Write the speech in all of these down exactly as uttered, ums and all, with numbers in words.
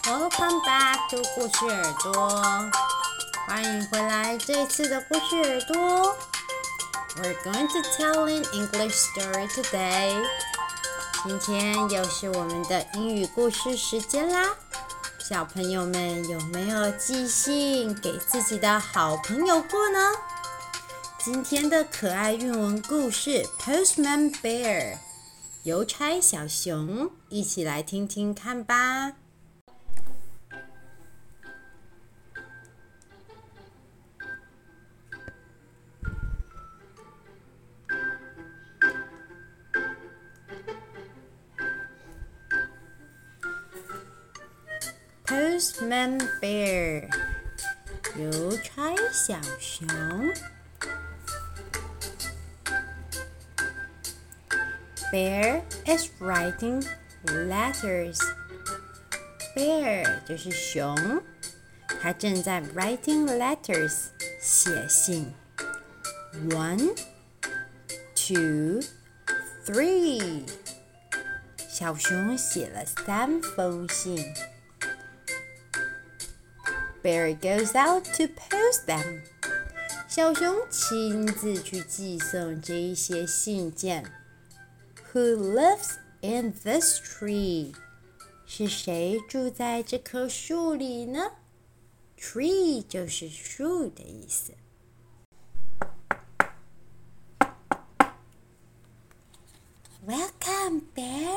Welcome back to 故事耳朵，歡迎回來這一次的故事耳朵。We're going to tell an English story today. 今天又是我們的英語故事時間啦。小朋友們有沒有寄信給自己的好朋友過呢？今天的可愛韻文故事 Postman Bear 郵差小熊，一起來聽聽看吧。Postman Bear 郵差小熊。Bear is writing letters. Bear 就是熊，他正在 writing letters 寫信。One, two, three. 小熊寫了三封信。Bear goes out to post them. 小熊親自去寄送這一些信件。Who lives in this tree? 是誰住在這棵樹裡呢？ Tree 就是樹的意思。Welcome, Bear.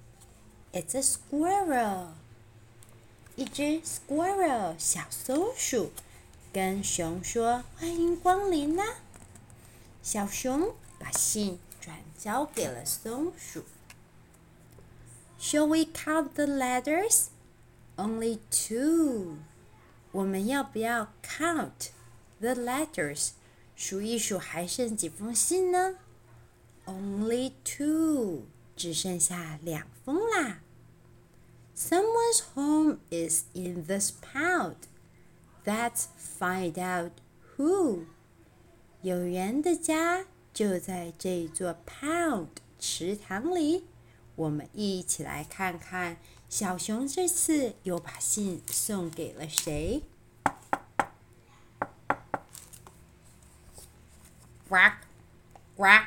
It's a squirrel. 一隻 squirrel 小松鼠跟熊說：“歡迎光臨啦！”小熊把信轉交給了松鼠。Shall we count the letters? Only two. 我們要不要 count the letters? 數一數還剩幾封信呢？ Only two. 只剩下兩封啦。Someone's home is in this pond. Let's find out who. 有人的家就在這座 pond 池塘裡，我們一起來看看小熊這次又把信送給了誰。Quack, quack.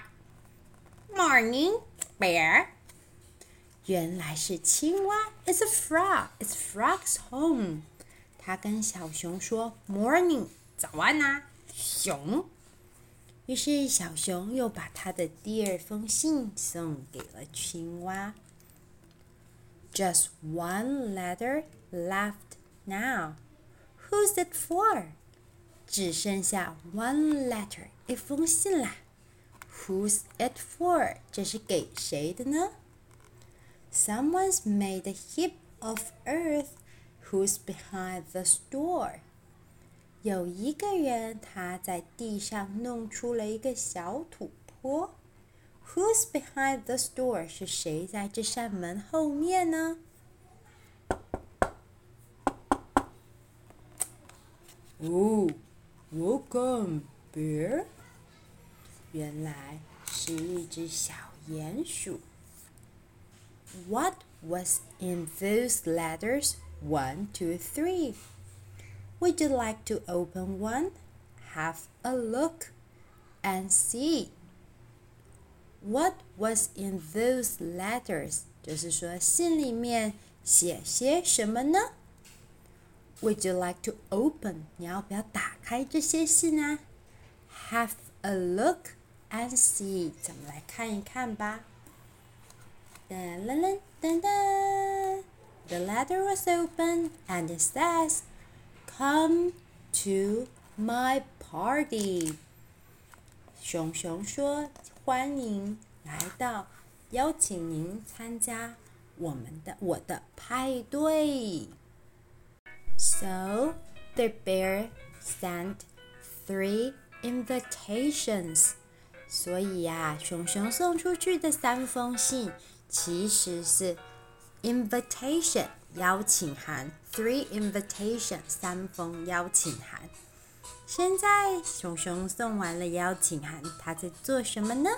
Morning, Bear. 原來是青蛙 It's a frog. It's frog's home. 他跟小熊說 Morning, 早安啊，熊。於是小熊又把他的第二封信送給了青蛙。Just one letter left now. Who's it for? 只剩下 one letter, 一封信啦。Who's it for? 這是給誰的呢？ Someone's made a heap of earth. Who's behind the store? 有一個人他在地上弄出了一個小土坡。Who's behind the store? 是誰在這扇門後面呢？ Oh, welcome, Bear. 原來是一隻小鼴鼠。What was in those letters? One, two, three. Would you like to open one? Have a look and see. What was in those letters? 就是說信裡面寫些什麼呢？ Would you like to open? 你要不要打開這些信啊？ Have a look and see. 咱們來看一看吧。噔噔噔噔 The letter was open and it says, Come to my party. 熊熊說：“歡迎來到，邀請您參加我們的我的派對。” So the bear sent three invitations. 所以呀、啊，熊熊送出去的三封信其實是 invitation 邀請函 ，three invitation 三封邀請函。現在熊熊送完了邀請函，他在做什麼呢？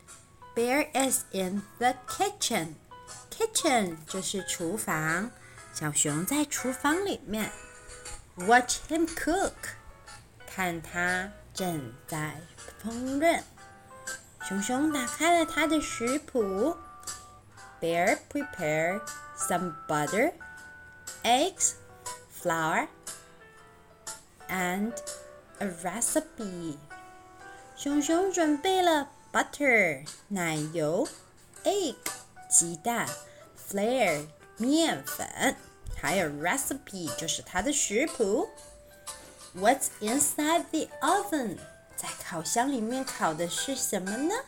Bear is in the kitchen. Kitchen 就是廚房。 小熊在廚房裡面 ，watch him cook， 看他正在烹飪。熊熊打開了他的食譜 ，Bear prepared some butter, eggs, flour, and a recipe。熊熊準備了 butter 奶油 egg 雞蛋 flour 麵粉，還有 recipe 就是它的食譜。What's inside the oven？ 在烤箱裡面烤的是什麼呢？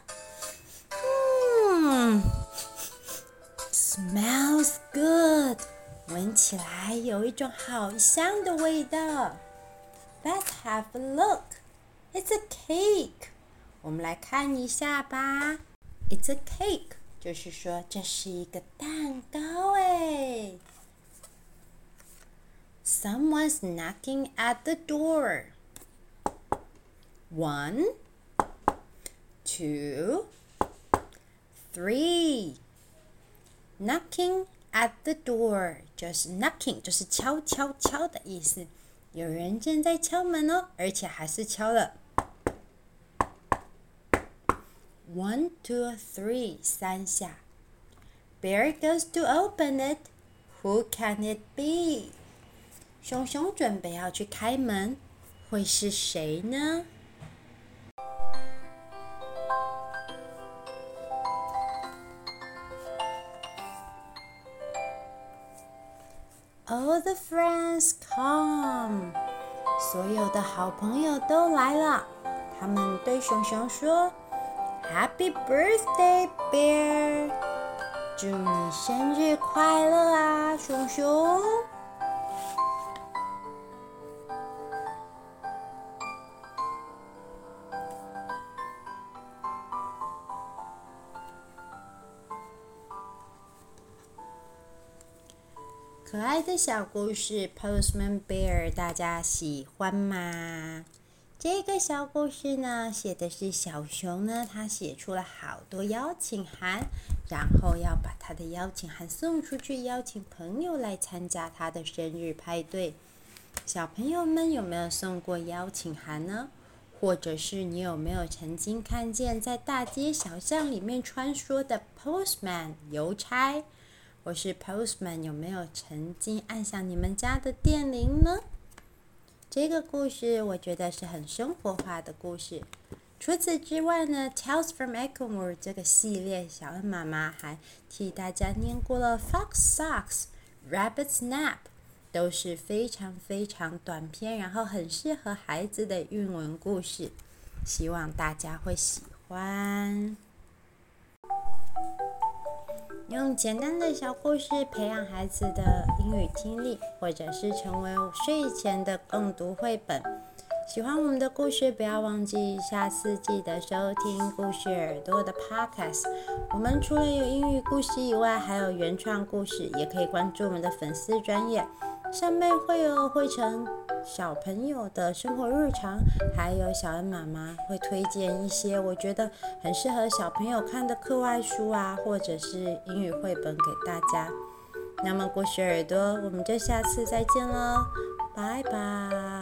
嗯 ，smells good， 聞起來有一種好香的味道。Let's have a look. It's a cake. 我們來看一下吧。It's a cake， 就是說這是一個蛋糕誒。Someone's knocking at the door. One, two, three. Knocking at the door 就是 knocking， 就是敲敲敲的意思。有人正在敲門哦，而且還是敲了 one, two, three 三下。Bear goes to open it. Who can it be? 熊熊準備要去開門，會是誰呢？All the friends come， 所有的好朋友都來了。他們對熊熊說 ：“Happy birthday, Bear！ 祝你生日快樂啊，熊熊！”可愛的小故事 Postman Bear 大家喜歡嗎？這個小故事呢，寫的是小熊呢，他寫出了好多邀請函，然後要把他的邀請函送出去，邀請朋友來參加他的生日派對。小朋友們有沒有送過邀請函呢？或者是你有沒有曾經看見在大街小巷裡面穿梭的 Postman 郵差？或是 Postman 有沒有曾經按響你們家的電鈴呢？這個故事我覺得是很生活化的故事。除此之外呢 Tales from Echomoor 這個系列，小恩媽媽還替大家念過了 Fox Socks、Rabbit's Nap， 都是非常非常短篇，然後很適合孩子的韻文故事，希望大家會喜歡。用簡單的小故事培養孩子的英語聽力，或者是成為睡前的共讀繪本。喜歡我們的故事，不要忘記下次記得收聽故事耳朵的 Podcast。我們除了有英語故事以外，還有原創故事，也可以關注我們的粉絲專頁，上面會有繪成小朋友的生活日常，還有小恩媽媽會推薦一些我覺得很適合小朋友看的課外書啊，或者是英語繪本給大家。那麼故事耳朵，我們就下次再見囉，拜拜。